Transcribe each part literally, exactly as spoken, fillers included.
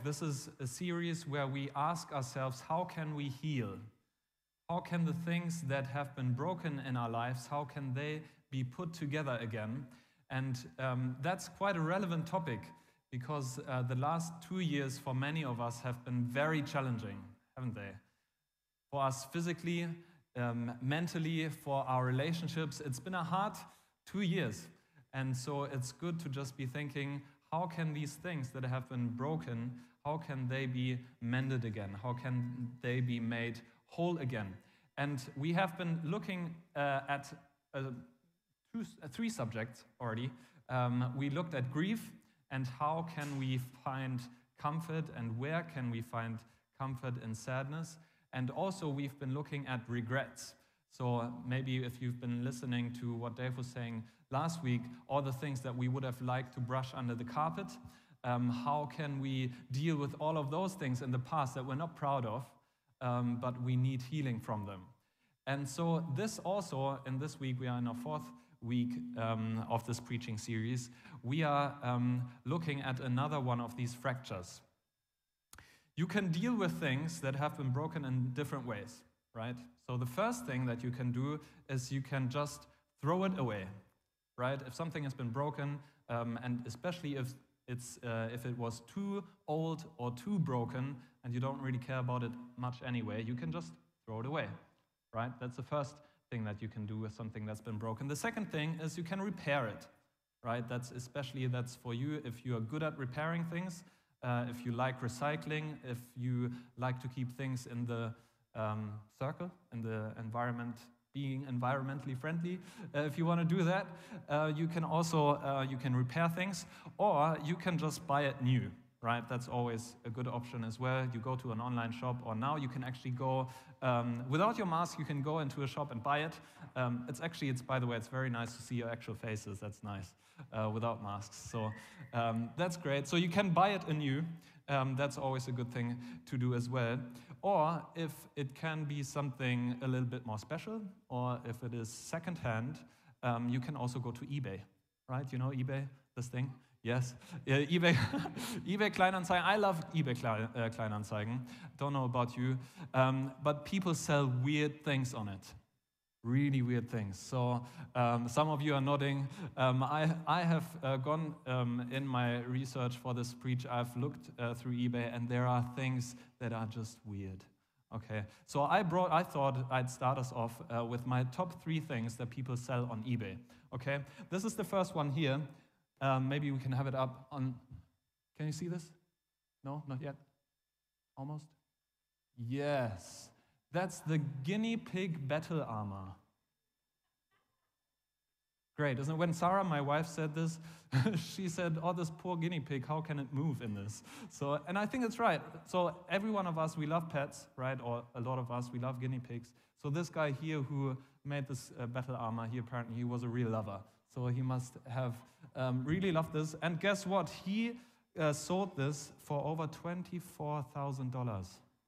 This is a series where we ask ourselves, how can we heal? How can the things that have been broken in our lives, how can they be put together again? And um, that's quite a relevant topic because uh, the last two years for many of us have been very challenging, haven't they? For us physically, um, mentally, for our relationships, it's been a hard two years. And so it's good to just be thinking, how can these things that have been broken, how can they be mended again? How can they be made whole again? And we have been looking uh, at uh, two, uh, three subjects already. Um, we looked at grief and how can we find comfort and where can we find comfort in sadness. And also we've been looking at regrets. So maybe if you've been listening to what Dave was saying last week, all the things that we would have liked to brush under the carpet, um, how can we deal with all of those things in the past that we're not proud of, um, but we need healing from them. And so this also, in this week, we are in our fourth week um, of this preaching series, we are um, looking at another one of these fractures. You can deal with things that have been broken in different ways, right? So the first thing that you can do is you can just throw it away, right? If something has been broken, um, and especially if it's uh, if it was too old or too broken, and you don't really care about it much anyway, you can just throw it away, right? That's the first thing that you can do with something that's been broken. The second thing is you can repair it, right? That's especially that's for you if you are good at repairing things, uh, if you like recycling, if you like to keep things in the um, circle, in the environment, being environmentally friendly. Uh, if you want to do that, uh, you can also uh, you can repair things, or you can just buy it new, right? That's always a good option as well. You go to an online shop, or now you can actually go um, without your mask. You can go into a shop and buy it. Um, it's actually, it's by the way, it's very nice to see your actual faces. That's nice uh, without masks. So um, that's great. So you can buy it anew. Um, that's always a good thing to do as well. Or if it can be something a little bit more special, or if it is secondhand, um, you can also go to eBay, right? You know eBay, this thing? Yes, uh, eBay, eBay Kleinanzeigen. I love eBay Klein, uh, Kleinanzeigen. Don't know about you, um, but people sell weird things on it. Really weird things. So um, some of you are nodding. Um, I, I have uh, gone um, in my research for this preach. I've looked uh, through eBay, and there are things that are just weird. Okay, so I brought. I thought I'd start us off uh, with my top three things that people sell on eBay. Okay, this is the first one here. Um, maybe we can have it up on. Can you see this? No, not yet. Almost. Yes. That's the guinea pig battle armor. Great, isn't it? When Sarah, my wife, said this, she said, oh, this poor guinea pig, how can it move in this? So, and I think it's right. So every one of us, we love pets, right? Or a lot of us, we love guinea pigs. So this guy here who made this uh, battle armor, he apparently he was a real lover. So he must have um, really loved this. And guess what? He uh, sold this for over twenty-four thousand dollars.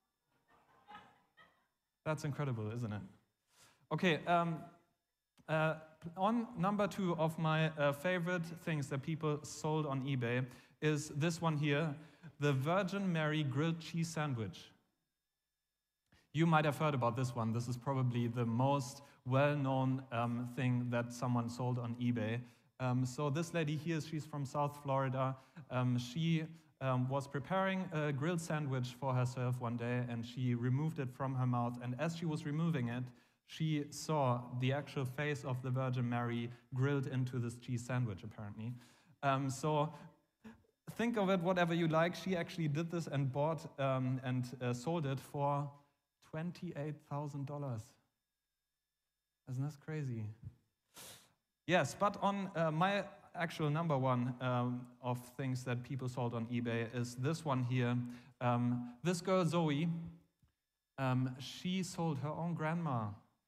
That's incredible, isn't it? Okay, um, uh, on number two of my uh, favorite things that people sold on eBay is this one here, the Virgin Mary grilled cheese sandwich. You might have heard about this one. This is probably the most well-known um, thing that someone sold on eBay. Um, so this lady here, she's from South Florida. Um, she Um, was preparing a grilled sandwich for herself one day, and she removed it from her mouth. And as she was removing it, she saw the actual face of the Virgin Mary grilled into this cheese sandwich, apparently. Um, so think of it whatever you like. She actually did this and bought um, and uh, sold it for twenty-eight thousand dollars. Isn't this crazy? Yes, but on uh, my actual number one um, of things that people sold on eBay is this one here. Um, this girl, Zoe, um, she sold her own grandma.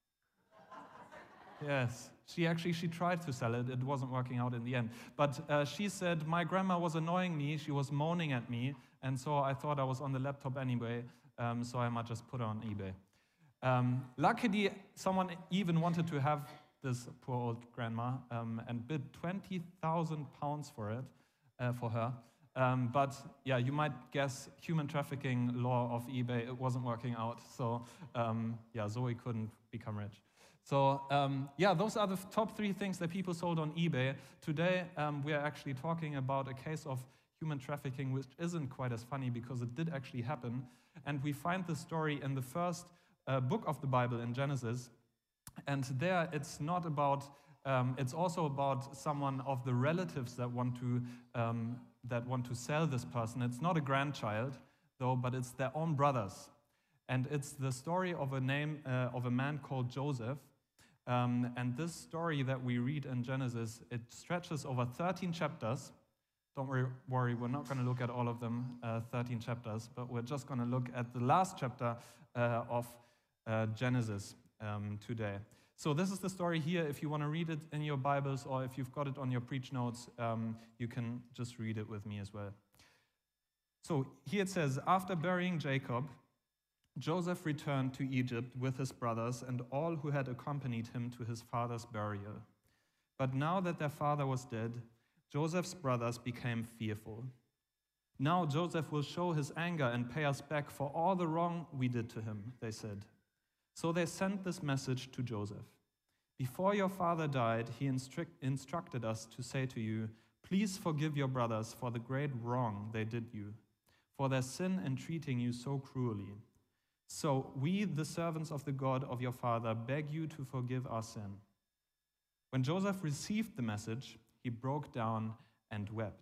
Yes, she actually, she tried to sell it. It wasn't working out in the end. But uh, she said, my grandma was annoying me. She was moaning at me. And so I thought I was on the laptop anyway, um, so I might just put her on eBay. Um, luckily, someone even wanted to have this poor old grandma um, and bid twenty thousand pounds for it, uh, for her. Um, but yeah, you might guess human trafficking law of eBay, it wasn't working out. So um, yeah, Zoe couldn't become rich. So um, yeah, those are the top three things that people sold on eBay. Today, um, we are actually talking about a case of human trafficking, which isn't quite as funny because it did actually happen. And we find the story in the first uh, book of the Bible in Genesis. And there it's not about, um, it's also about someone of the relatives that want to um, that want to sell this person. It's not a grandchild, though, but it's their own brothers. And it's the story of a name uh, of a man called Joseph. Um, and this story that we read in Genesis, it stretches over thirteen chapters. Don't worry, worry we're not going to look at all of them, uh, thirteen chapters, but we're just going to look at the last chapter uh, of uh, Genesis um, today. So this is the story here. If you want to read it in your Bibles or if you've got it on your preach notes, um, you can just read it with me as well. So here it says, after burying Jacob, Joseph returned to Egypt with his brothers and all who had accompanied him to his father's burial. But now that their father was dead, Joseph's brothers became fearful. Now Joseph will show his anger and pay us back for all the wrong we did to him, they said. So they sent this message to Joseph. Before your father died, he instru- instructed us to say to you, please forgive your brothers for the great wrong they did you, for their sin in treating you so cruelly. So we, the servants of the God of your father, beg you to forgive our sin. When Joseph received the message, he broke down and wept.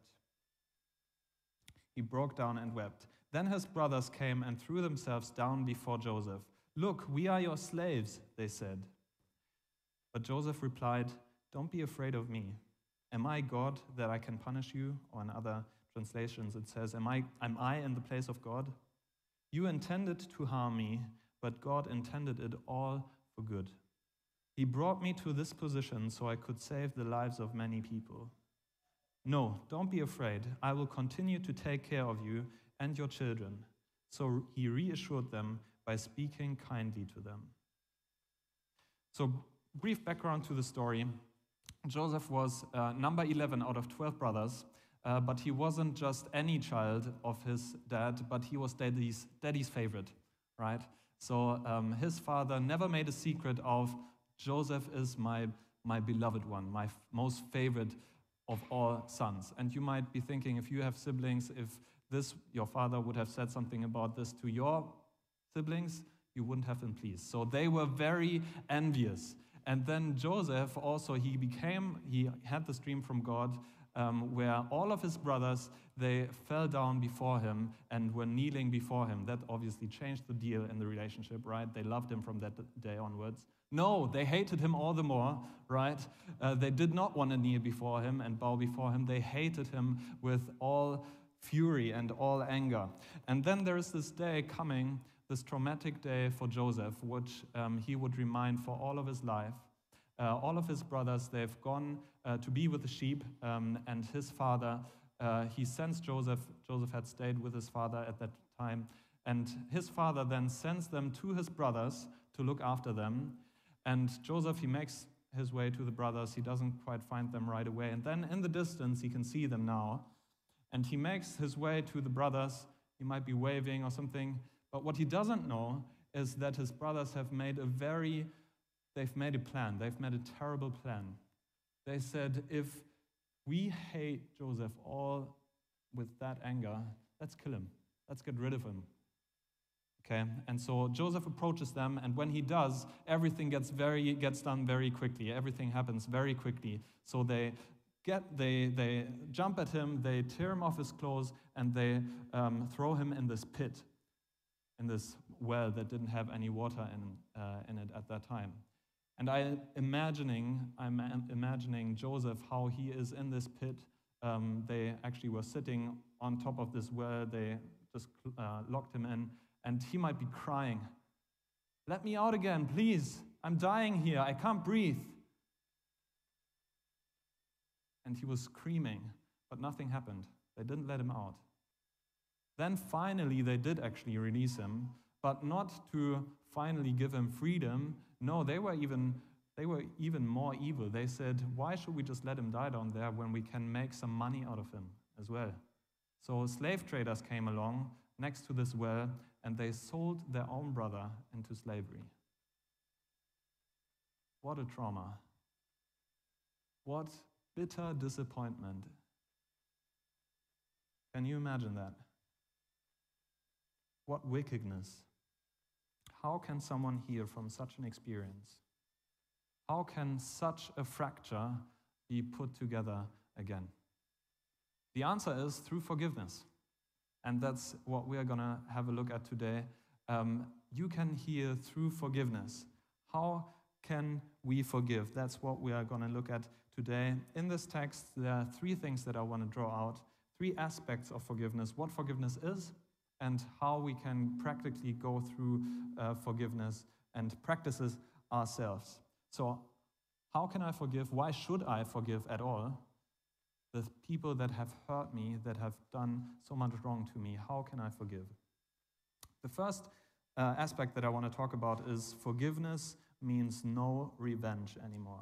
He broke down and wept. Then his brothers came and threw themselves down before Joseph. Look, we are your slaves, they said. But Joseph replied, don't be afraid of me. Am I God that I can punish you? Or in other translations it says, am I, am I in the place of God? You intended to harm me, but God intended it all for good. He brought me to this position so I could save the lives of many people. No, don't be afraid. I will continue to take care of you and your children. So he reassured them by speaking kindly to them. So, brief background to the story. Joseph was uh, number eleven out of twelve brothers, uh, but he wasn't just any child of his dad, but he was daddy's, daddy's favorite, right? So um, his father never made a secret of, Joseph is my, my beloved one, my f- most favorite of all sons. And you might be thinking, if you have siblings, if this, your father would have said something about this to your siblings, you wouldn't have been pleased. So they were very envious. And then Joseph also, he became, he had this dream from God um, where all of his brothers, they fell down before him and were kneeling before him. That obviously changed the deal in the relationship, right? They loved him from that day onwards. No, they hated him all the more, right? Uh, they did not want to kneel before him and bow before him. They hated him with all fury and all anger. And then there is this day coming, this traumatic day for Joseph, which um, he would remind for all of his life. Uh, all of his brothers, they've gone uh, to be with the sheep, um, and his father, uh, he sends Joseph, Joseph had stayed with his father at that time, and his father then sends them to his brothers to look after them, and Joseph, he makes his way to the brothers, he doesn't quite find them right away, and then in the distance, he can see them now, and he makes his way to the brothers, he might be waving or something, but what he doesn't know is that his brothers have made a very, they've made a plan. They've made a terrible plan. They said, if we hate Joseph all with that anger, let's kill him. Let's get rid of him. Okay, and so Joseph approaches them, and when he does, everything gets very gets done very quickly. Everything happens very quickly. So they get they they jump at him, they tear him off his clothes, and they um, throw him in this pit, in this well that didn't have any water in uh, in it at that time. And I imagining I'm imagining Joseph, how he is in this pit. Um, they actually were sitting on top of this well. They just uh, locked him in. And he might be crying, let me out again, please. I'm dying here. I can't breathe. And he was screaming, but nothing happened. They didn't let him out. Then finally, they did actually release him, but not to finally give him freedom. No, they were even they were even more evil. They said, why should we just let him die down there when we can make some money out of him as well? So slave traders came along next to this well, and they sold their own brother into slavery. What a trauma. What bitter disappointment. Can you imagine that? What wickedness. How can someone heal from such an experience? How can such a fracture be put together again? The answer is through forgiveness. And that's what we are going to have a look at today. Um, you can heal through forgiveness. How can we forgive? That's what we are going to look at today. In this text, there are three things that I want to draw out, three aspects of forgiveness, what forgiveness is, and how we can practically go through uh, forgiveness and practices ourselves. So, how can I forgive? Why should I forgive at all? The people that have hurt me, that have done so much wrong to me, how can I forgive? The first uh, aspect that I want to talk about is forgiveness means no revenge anymore.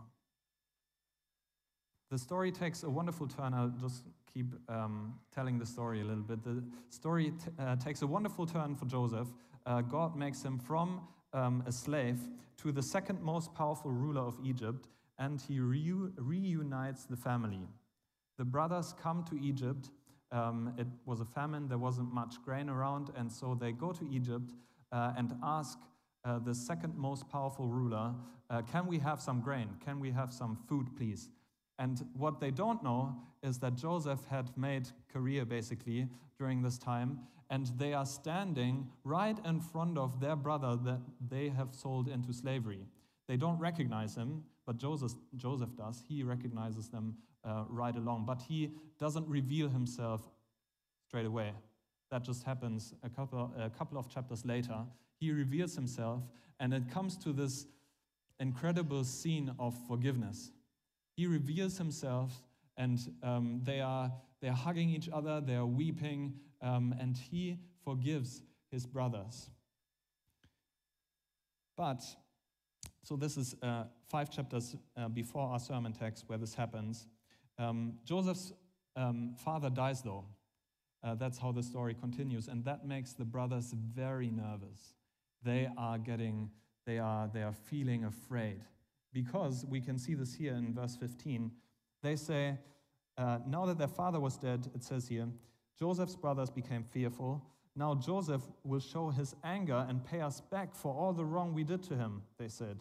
The story takes a wonderful turn. I'll just keep um, telling the story a little bit. The story t- uh, takes a wonderful turn for Joseph. Uh, God makes him from um, a slave to the second most powerful ruler of Egypt, and he reu- reunites the family. The brothers come to Egypt. Um, it was a famine. There wasn't much grain around, and so they go to Egypt uh, and ask uh, the second most powerful ruler, uh, can we have some grain? Can we have some food, please? And what they don't know is that Joseph had made career basically during this time, and they are standing right in front of their brother that they have sold into slavery. They don't recognize him, but Joseph, Joseph does. He recognizes them uh, right along, but he doesn't reveal himself straight away. That just happens a couple, a couple of chapters later. He reveals himself, and it comes to this incredible scene of forgiveness. He reveals himself, and um, they are they are hugging each other, they are weeping, um, and he forgives his brothers. But, so this is uh, five chapters uh, before our sermon text where this happens. Um, Joseph's um, father dies, though. Uh, that's how the story continues, and that makes the brothers very nervous. They are getting, they are they are feeling afraid. Because we can see this here in verse fifteen, they say, uh, now that their father was dead, it says here, Joseph's brothers became fearful. Now Joseph will show his anger and pay us back for all the wrong we did to him, they said.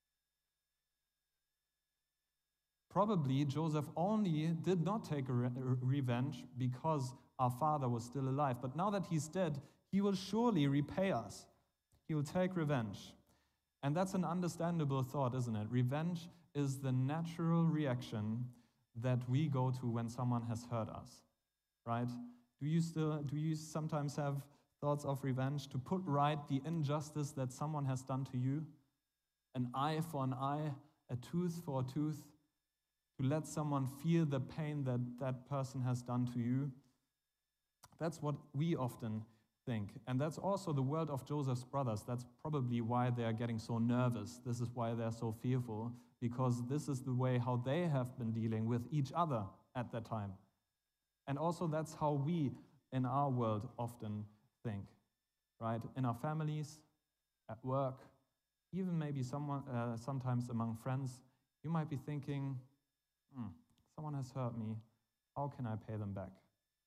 Probably Joseph only did not take a re- revenge because our father was still alive. But now that he's dead, he will surely repay us. He will take revenge. And that's an understandable thought, isn't it? Revenge is the natural reaction that we go to when someone has hurt us, right? Do you still, do you sometimes have thoughts of revenge to put right the injustice that someone has done to you? An eye for an eye, a tooth for a tooth, to let someone feel the pain that that person has done to you? That's what we often think. And that's also the world of Joseph's brothers. That's probably why they are getting so nervous. This is why they're so fearful, because this is the way how they have been dealing with each other at that time. And also that's how we in our world often think, right? In our families, at work, even maybe someone, uh, sometimes among friends, you might be thinking, hmm, someone has hurt me. How can I pay them back?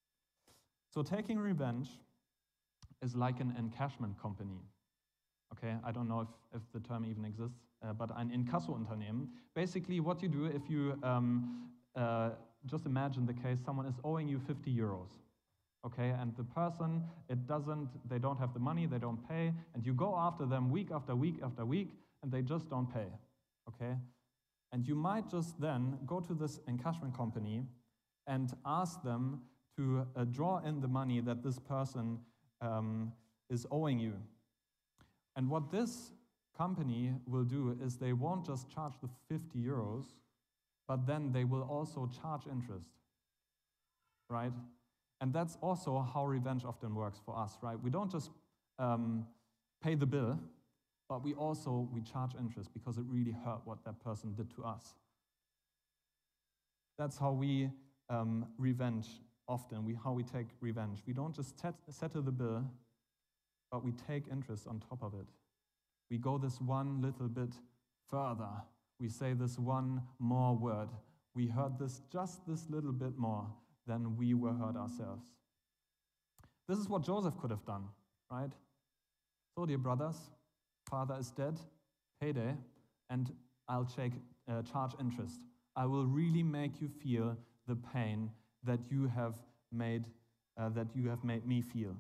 So taking revenge is like an encashment company. Okay, I don't know if, if the term even exists, uh, but an Inkasso-Unternehmen. Basically, what you do if you um, uh, just imagine the case, someone is owing you fifty euros. Okay, and the person, it doesn't, they don't have the money, they don't pay, and you go after them week after week after week, and they just don't pay. Okay, and you might just then go to this encashment company and ask them to uh, draw in the money that this person um, is owing you. And what this company will do is they won't just charge the fifty euros, but then they will also charge interest, right? And that's also how revenge often works for us, right? We don't just um, pay the bill, but we also, we charge interest because it really hurt what that person did to us. That's how we um, revenge often, we, how we take revenge. We don't just set, settle the bill, but we take interest on top of it. We go this one little bit further. We say this one more word. We heard this just this little bit more than we were heard ourselves. This is what Joseph could have done, right? So, dear brothers, father is dead, payday, and I'll check, uh, charge interest. I will really make you feel the pain that you have made, uh, that you have made me feel.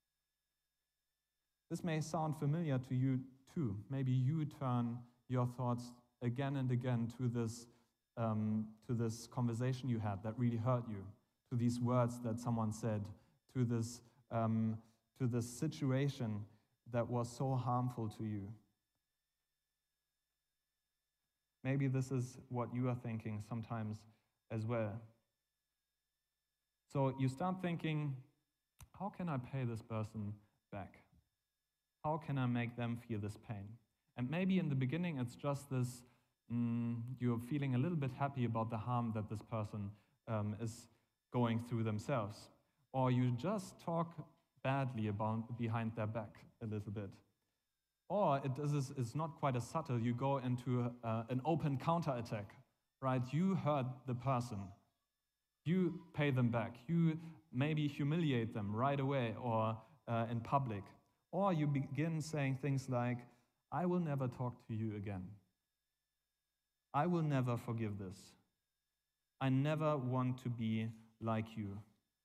This may sound familiar to you too. Maybe you turn your thoughts again and again to this, um, to this conversation you had that really hurt you, to these words that someone said, to this, um, to this situation that was so harmful to you. Maybe this is what you are thinking sometimes as well. So you start thinking, how can I pay this person back? How can I make them feel this pain? And maybe in the beginning it's just this, mm, you're feeling a little bit happy about the harm that this person um, is going through themselves. Or you just talk badly about behind their back a little bit. Or it is it's not quite as subtle. You go into uh, an open counterattack, right? You hurt the person. You pay them back. You maybe humiliate them right away or uh, in public. Or you begin saying things like, I will never talk to you again. I will never forgive this. I never want to be like you.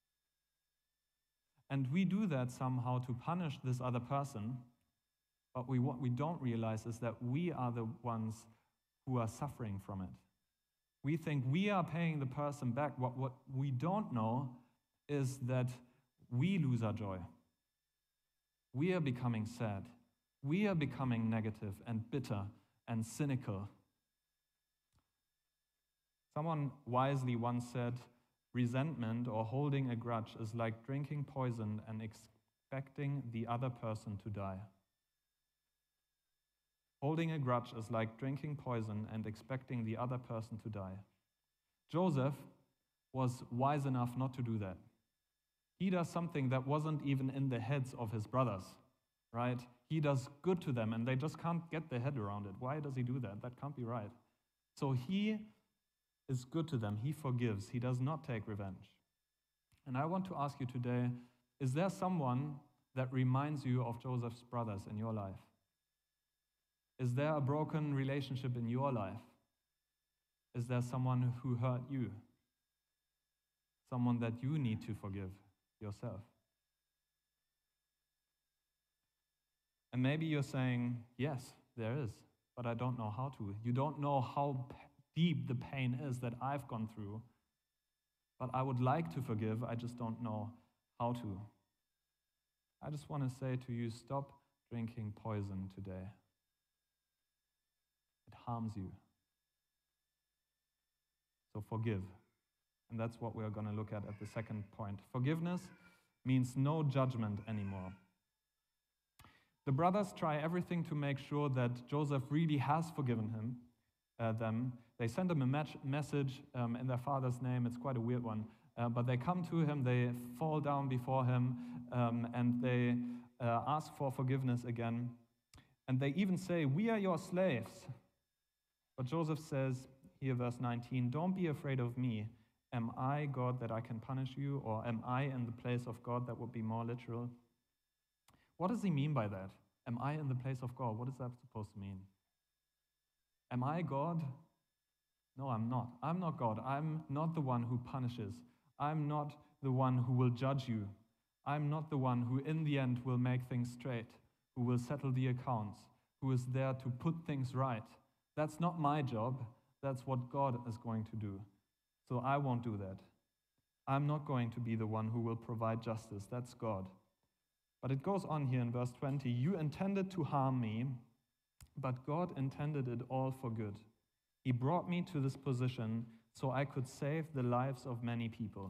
And we do that somehow to punish this other person. But we, what we don't realize is that we are the ones who are suffering from it. We think we are paying the person back. What, what we don't know is that we lose our joy. We are becoming sad. We are becoming negative and bitter and cynical. Someone wisely once said, resentment or holding a grudge is like drinking poison and expecting the other person to die. Holding a grudge is like drinking poison and expecting the other person to die. Joseph was wise enough not to do that. He does something that wasn't even in the heads of his brothers, right? He does good to them and they just can't get their head around it. Why does he do that? That can't be right. So he is good to them. He forgives. He does not take revenge. And I want to ask you today, is there someone that reminds you of Joseph's brothers in your life? Is there a broken relationship in your life? Is there someone who hurt you? Someone that you need to forgive yourself? And maybe you're saying, yes, there is, but I don't know how to. You don't know how deep the pain is that I've gone through, but I would like to forgive, I just don't know how to. I just want to say to you, stop drinking poison today. It harms you. So forgive. And that's what we're going to look at at the second point. Forgiveness means no judgment anymore. The brothers try everything to make sure that Joseph really has forgiven him, uh, them. They send him a match, message um, in their father's name. It's quite a weird one. Uh, but they come to him, they fall down before him, um, and they uh, ask for forgiveness again. And they even say, we are your slaves. But Joseph says, here verse nineteen, don't be afraid of me. Am I God that I can punish you? Or am I in the place of God? That would be more literal. What does he mean by that? Am I in the place of God? What is that supposed to mean? Am I God? No, I'm not. I'm not God. I'm not the one who punishes. I'm not the one who will judge you. I'm not the one who in the end will make things straight, who will settle the accounts, who is there to put things right. That's not my job. That's what God is going to do. So I won't do that. I'm not going to be the one who will provide justice. That's God. But it goes on here in verse twenty. You intended to harm me, but God intended it all for good. He brought me to this position so I could save the lives of many people.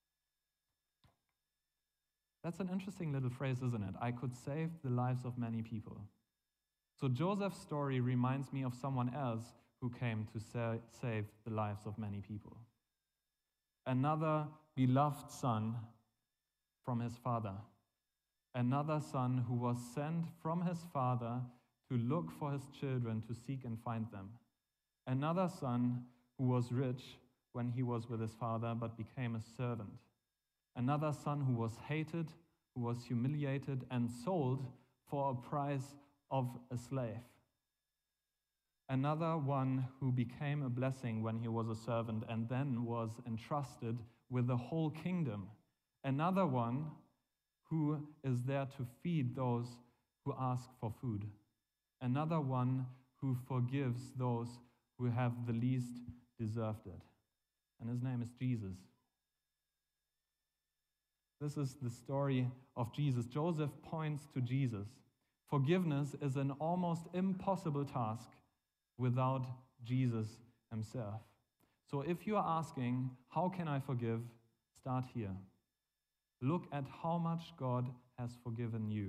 That's an interesting little phrase, isn't it? I could save the lives of many people. So Joseph's story reminds me of someone else who came to sa- save the lives of many people. Another beloved son from his father. Another son who was sent from his father to look for his children, to seek and find them. Another son who was rich when he was with his father, but became a servant. Another son who was hated, who was humiliated and sold for a price of a slave. Another one who became a blessing when he was a servant and then was entrusted with the whole kingdom. Another one who is there to feed those who ask for food. Another one who forgives those who have the least deserved it. And his name is Jesus. This is the story of Jesus. Joseph points to Jesus. Forgiveness is an almost impossible task without Jesus himself. So if you are asking, how can I forgive? Start here. Look at how much God has forgiven you.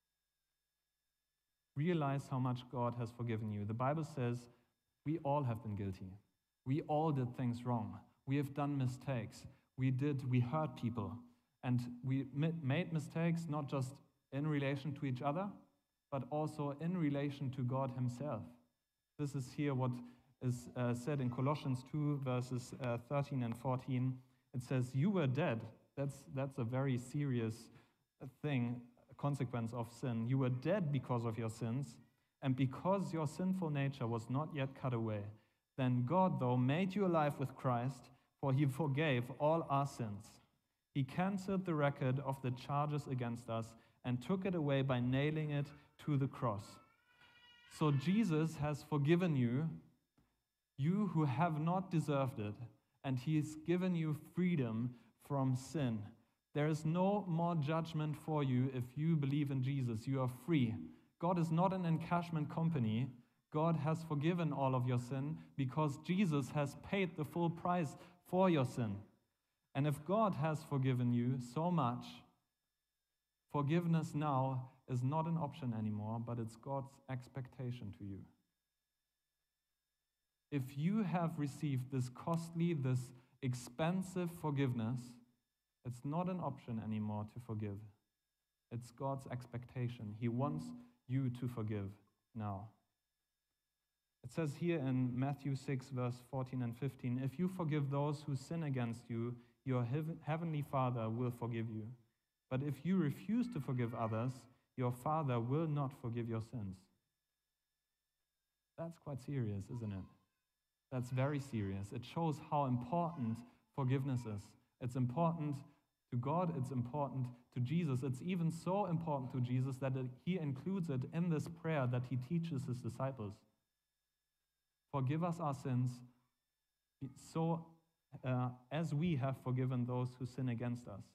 Realize how much God has forgiven you. The Bible says we all have been guilty. We all did things wrong. We have done mistakes. We did, we hurt people. And we made mistakes not just in relation to each other, but also in relation to God himself. This is here what is uh, said in Colossians two, verses uh, thirteen and fourteen. It says, you were dead. That's, that's a very serious thing, a consequence of sin. You were dead because of your sins, and because your sinful nature was not yet cut away. Then God, though, made you alive with Christ, for he forgave all our sins. He canceled the record of the charges against us and took it away by nailing it to the cross. So Jesus has forgiven you, you who have not deserved it, and he has given you freedom from sin. There is no more judgment for you if you believe in Jesus. You are free. God is not an encashment company. God has forgiven all of your sin because Jesus has paid the full price for your sin. And if God has forgiven you so much, forgiveness now is not an option anymore, but it's God's expectation to you. If you have received this costly, this expensive forgiveness, it's not an option anymore to forgive. It's God's expectation. He wants you to forgive now. It says here in Matthew six, verse fourteen and fifteen, if you forgive those who sin against you, your heavenly Father will forgive you. But if you refuse to forgive others, your Father will not forgive your sins. That's quite serious, isn't it? That's very serious. It shows how important forgiveness is. It's important to God, it's important to Jesus. It's even so important to Jesus that he includes it in this prayer that he teaches his disciples. Forgive us our sins, so uh, as we have forgiven those who sin against us.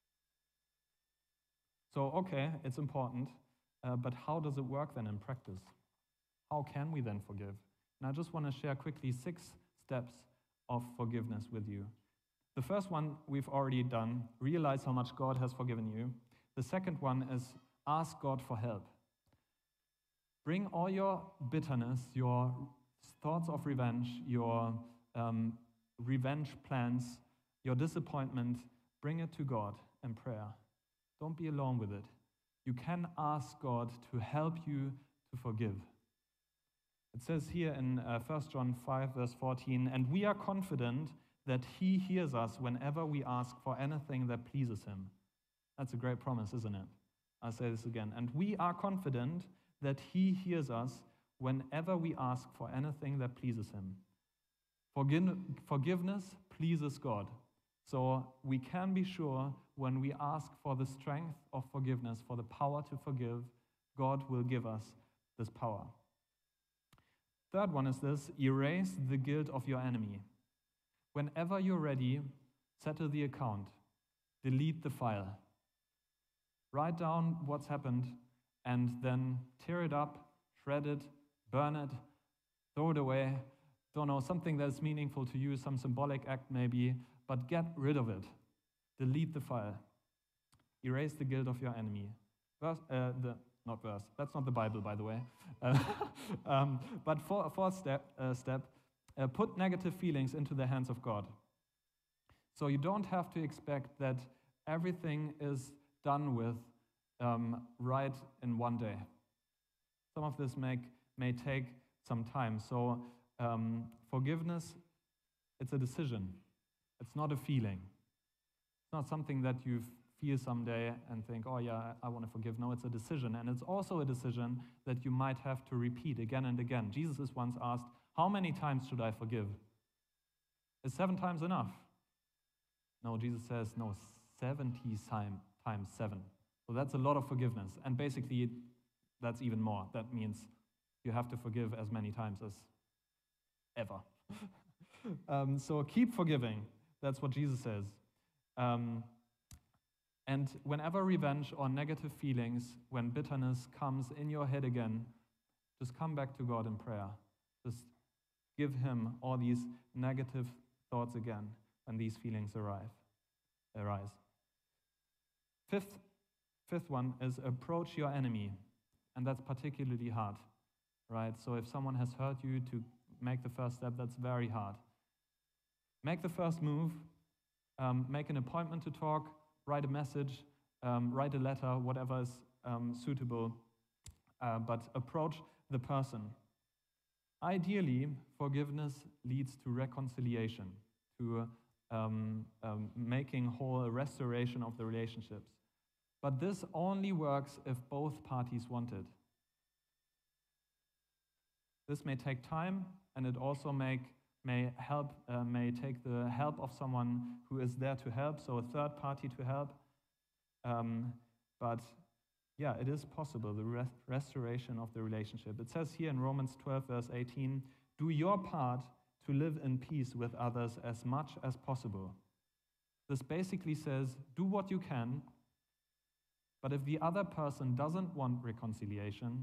So, okay, it's important, uh, but how does it work then in practice? How can we then forgive? And I just want to share quickly six steps of forgiveness with you. The first one we've already done, realize how much God has forgiven you. The second one is ask God for help. Bring all your bitterness, your thoughts of revenge, your um, revenge plans, your disappointment, bring it to God in prayer. Don't be alone with it. You can ask God to help you to forgive. It says here in uh, First John five, verse fourteen, and we are confident that he hears us whenever we ask for anything that pleases him. That's a great promise, isn't it? I'll say this again. And we are confident that he hears us whenever we ask for anything that pleases him. Forgive- forgiveness pleases God. So we can be sure when we ask for the strength of forgiveness, for the power to forgive, God will give us this power. Third one is this: erase the guilt of your enemy. Whenever you're ready, settle the account, delete the file. Write down what's happened and then tear it up, shred it, burn it, throw it away. Don't know, something that's meaningful to you, some symbolic act maybe, but get rid of it. Delete the file. Erase the guilt of your enemy. Verse, uh, the, not verse, that's not the Bible, by the way. Uh, um, but for, fourth step, uh, step uh, put negative feelings into the hands of God. So you don't have to expect that everything is done with um, right in one day. Some of this may, may take some time. So um, forgiveness, it's a decision. It's not a feeling. It's not something that you feel someday and think, oh yeah, I, I want to forgive. No, it's a decision. And it's also a decision that you might have to repeat again and again. Jesus is once asked, how many times should I forgive? Is seven times enough? No, Jesus says, no, seventy time, times seven. So that's a lot of forgiveness. And basically, that's even more. That means you have to forgive as many times as ever. um, so keep forgiving. That's what Jesus says. Um, and whenever revenge or negative feelings, when bitterness comes in your head again, just come back to God in prayer. Just give him all these negative thoughts again when these feelings arrive, arise. Fifth, fifth one is approach your enemy. And that's particularly hard, right? So if someone has hurt you, to make the first step, that's very hard. Make the first move, um, make an appointment to talk, write a message, um, write a letter, whatever is um, suitable, uh, but approach the person. Ideally, forgiveness leads to reconciliation, to um, um, making whole a restoration of the relationships. But this only works if both parties want it. This may take time, and it also make, may help, uh, may take the help of someone who is there to help, so a third party to help. Um, but yeah, it is possible, the rest restoration of the relationship. It says here in Romans twelve, verse eighteen, do your part to live in peace with others as much as possible. This basically says, do what you can. But if the other person doesn't want reconciliation,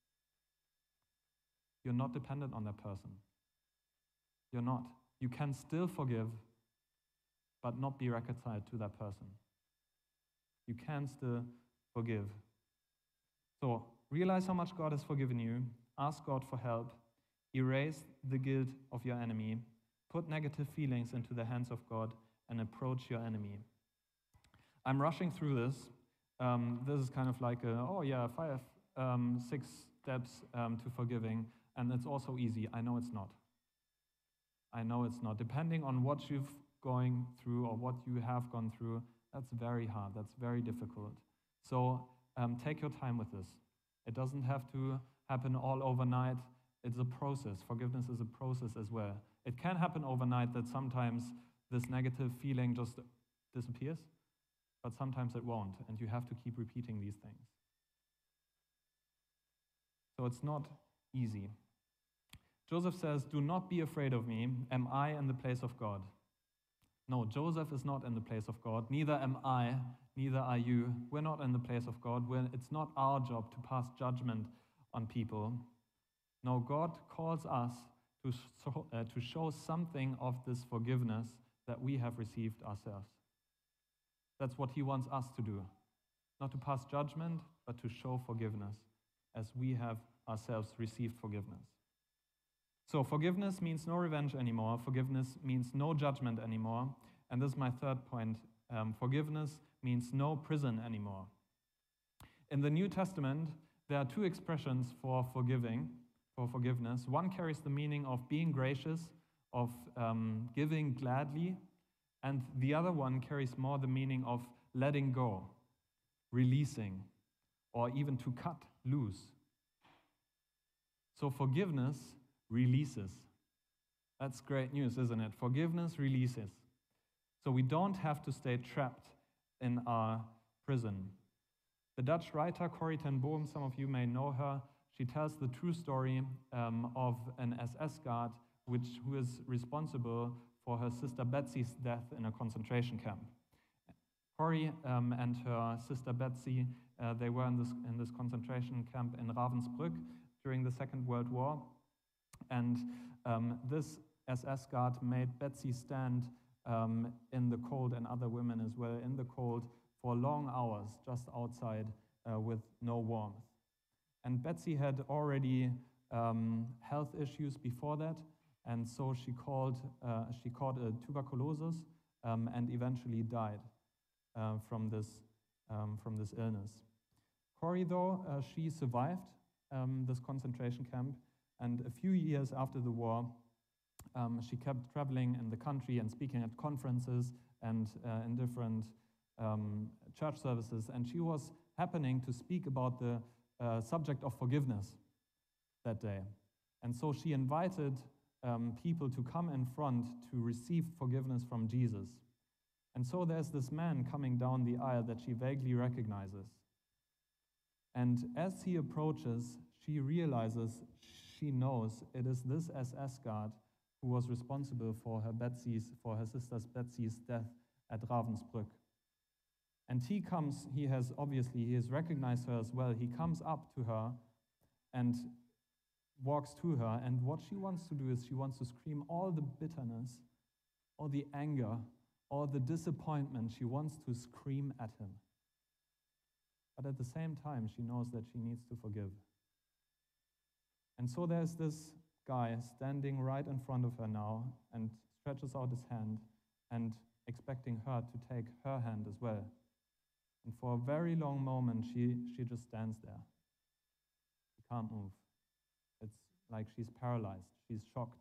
you're not dependent on that person. You're not. You can still forgive, but not be reconciled to that person. You can still forgive. So realize how much God has forgiven you. Ask God for help. Erase the guilt of your enemy. Put negative feelings into the hands of God and approach your enemy. I'm rushing through this. Um, this is kind of like, a, oh yeah, five, um, six steps um, to forgiving, and it's also easy. I know it's not. I know it's not. Depending on what you've going through or what you have gone through, that's very hard. That's very difficult. So um, take your time with this. It doesn't have to happen all overnight. It's a process. Forgiveness is a process as well. It can happen overnight that sometimes this negative feeling just disappears. But sometimes it won't, and you have to keep repeating these things. So it's not easy. Joseph says, do not be afraid of me. Am I in the place of God? No, Joseph is not in the place of God. Neither am I, neither are you. We're not in the place of God. We're, it's not our job to pass judgment on people. No, God calls us to, so, uh, to show something of this forgiveness that we have received ourselves. That's what he wants us to do. Not to pass judgment, but to show forgiveness as we have ourselves received forgiveness. So forgiveness means no revenge anymore. Forgiveness means no judgment anymore. And this is my third point. Um, forgiveness means no prison anymore. In the New Testament, there are two expressions for forgiving, for forgiveness. One carries the meaning of being gracious, of um, giving gladly, and the other one carries more the meaning of letting go, releasing, or even to cut loose. So forgiveness releases. That's great news, isn't it? Forgiveness releases. So we don't have to stay trapped in our prison. The Dutch writer Corrie ten Boom, some of you may know her, she tells the true story um, of an S S guard which, who is responsible for her sister Betsy's death in a concentration camp. Corrie um, and her sister Betsy, uh, they were in this, in this concentration camp in Ravensbrück during the Second World War. And um, this S S guard made Betsy stand um, in the cold, and other women as well, in the cold for long hours just outside uh, with no warmth. And Betsy had already um, health issues before that, and so she called, uh, she caught a tuberculosis, um, and eventually died uh, from this um, from this illness. Corrie, though, uh, she survived um, this concentration camp, and a few years after the war, um, she kept traveling in the country and speaking at conferences and uh, in different um, church services, and she was happening to speak about the uh, subject of forgiveness that day. And so she invited um, people to come in front to receive forgiveness from Jesus. And so there's this man coming down the aisle that she vaguely recognizes. And as he approaches, she realizes, she knows it is this S S guard who was responsible for her Betsy's, for her sister's Betsy's death at Ravensbrück. And he comes, he has obviously, he has recognized her as well. He comes up to her and walks to her, and what she wants to do is she wants to scream all the bitterness, all the anger, all the disappointment. She wants to scream at him. But at the same time, she knows that she needs to forgive. And so there's this guy standing right in front of her now and stretches out his hand and expecting her to take her hand as well. And for a very long moment, she, she just stands there. She can't move. It's like she's paralyzed. She's shocked.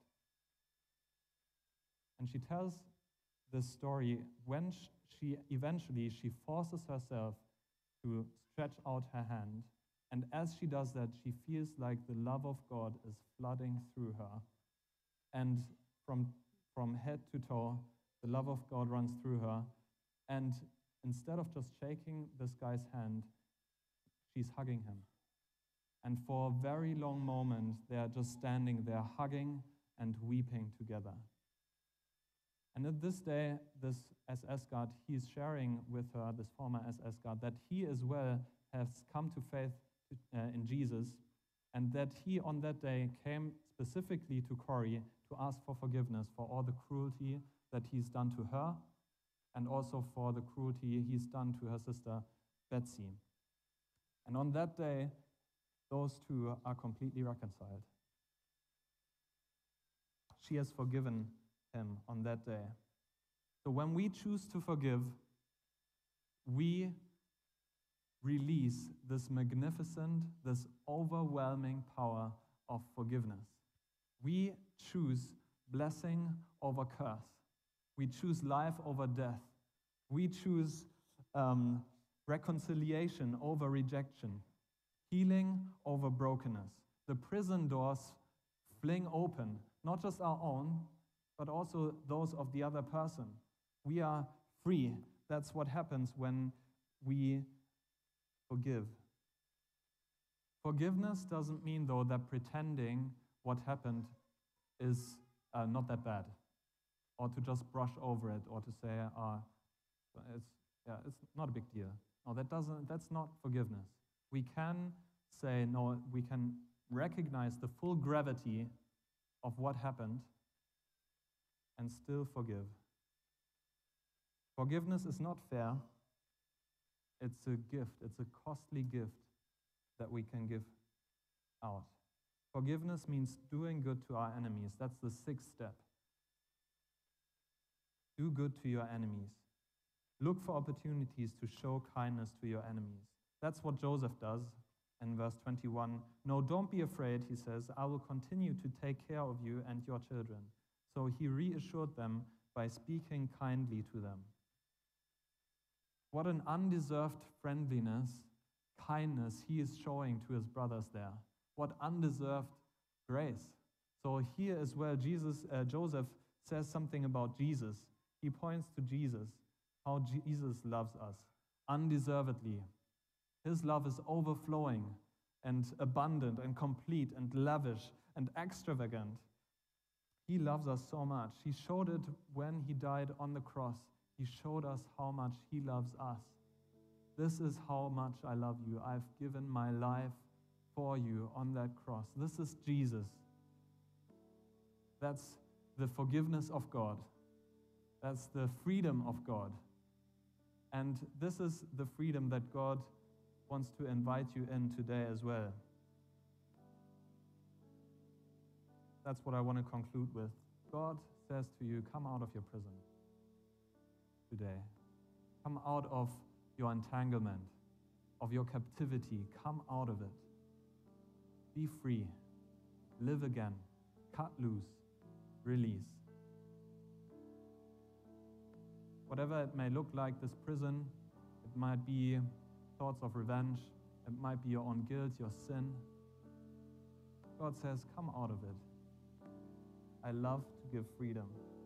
And she tells this story when she eventually, she forces herself to stretch out her hand. And as she does that, she feels like the love of God is flooding through her. And from, from head to toe, the love of God runs through her. And instead of just shaking this guy's hand, she's hugging him. And for a very long moment, they're just standing there hugging and weeping together. And at this day, this S S guard, he's sharing with her, this former S S guard, that he as well has come to faith uh, in Jesus, and that he on that day came specifically to Corrie to ask for forgiveness for all the cruelty that he's done to her, and also for the cruelty he's done to her sister Betsy. And on that day, those two are completely reconciled. She has forgiven him on that day. So when we choose to forgive, we release this magnificent, this overwhelming power of forgiveness. We choose blessing over curse. We choose life over death. We choose um, reconciliation over rejection, healing over brokenness. The prison doors fling open, not just our own, but also those of the other person. We are free. That's what happens when we forgive. Forgiveness doesn't mean, though, that pretending what happened is uh, not that bad, or to just brush over it, or to say, uh, it's, yeah, it's not a big deal. No, that doesn't, that's not forgiveness. We can say, no, we can recognize the full gravity of what happened and still forgive. Forgiveness is not fair. It's a gift. It's a costly gift that we can give out. Forgiveness means doing good to our enemies. That's the sixth step. Do good to your enemies. Look for opportunities to show kindness to your enemies. That's what Joseph does in verse twenty-one. No, don't be afraid, he says. I will continue to take care of you and your children. So he reassured them by speaking kindly to them. What an undeserved friendliness, kindness he is showing to his brothers there. What undeserved grace. So here as well, Jesus, uh, Joseph says something about Jesus. He points to Jesus, how Jesus loves us undeservedly. His love is overflowing and abundant and complete and lavish and extravagant. He loves us so much. He showed it when he died on the cross. He showed us how much he loves us. This is how much I love you. I've given my life for you on that cross. This is Jesus. That's the forgiveness of God. That's the freedom of God. And this is the freedom that God wants to invite you in today as well. That's what I want to conclude with. God says to you, come out of your prison. today. Come out of your entanglement, of your captivity. Come out of it. Be free. Live again. Cut loose. Release. Whatever it may look like, this prison, it might be thoughts of revenge, it might be your own guilt, your sin. God says, come out of it. I love to give freedom.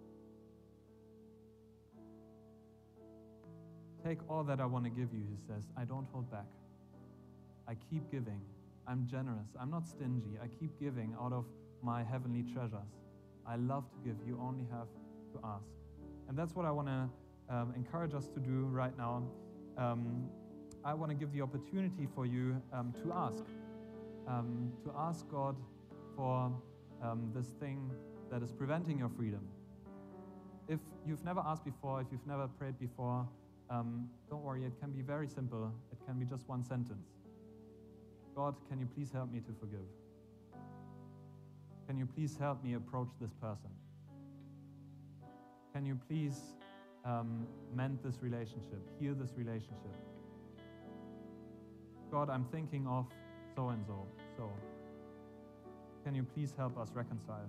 Take all that I want to give you, he says. I don't hold back. I keep giving. I'm generous. I'm not stingy. I keep giving out of my heavenly treasures. I love to give. You only have to ask. And that's what I want to um, encourage us to do right now. Um, I want to give the opportunity for you um, to ask. Um, to ask God for um, this thing that is preventing your freedom. If you've never asked before, if you've never prayed before, um, don't worry, it can be very simple. It can be just one sentence. God, can you please help me to forgive? Can you please help me approach this person? Can you please um, mend this relationship, heal this relationship? God, I'm thinking of so-and-so, so. Can you please help us reconcile?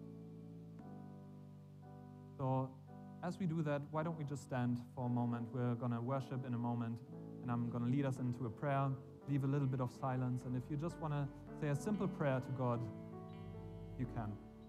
So as we do that, why don't we just stand for a moment? We're going to worship in a moment, and I'm going to lead us into a prayer, leave a little bit of silence, and if you just want to say a simple prayer to God, you can.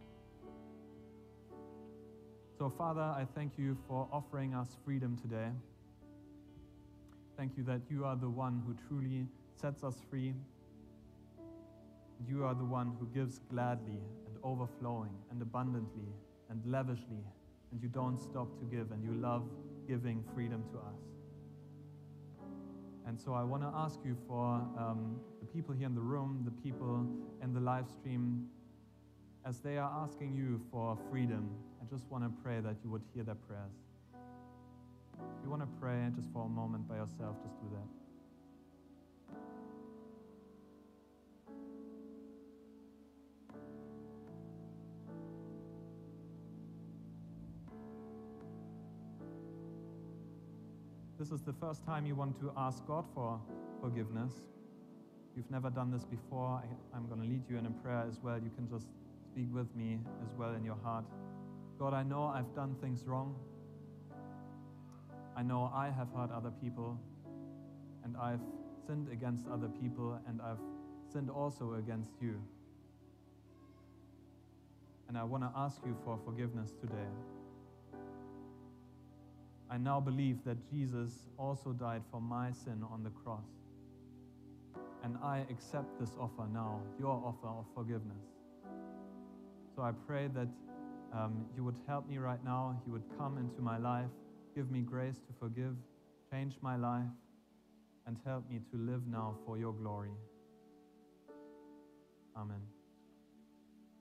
So Father, I thank you for offering us freedom today. Thank you that you are the one who truly sets us free. You are the one who gives gladly and overflowing and abundantly and lavishly, and you don't stop to give, and you love giving freedom to us. And so I want to ask you for um, the people here in the room, the people in the live stream, as they are asking you for freedom, I just want to pray that you would hear their prayers. If you want to pray just for a moment by yourself, just do that. This is the first time you want to ask God for forgiveness. If you've never done this before, I, I'm going to lead you in a prayer as well. You can just speak with me as well in your heart. God, I know I've done things wrong. I know I have hurt other people, and I've sinned against other people, and I've sinned also against you. And I want to ask you for forgiveness today. I now believe that Jesus also died for my sin on the cross. And I accept this offer now, your offer of forgiveness. So I pray that um, you would help me right now, you would come into my life, give me grace to forgive, change my life, and help me to live now for your glory. Amen.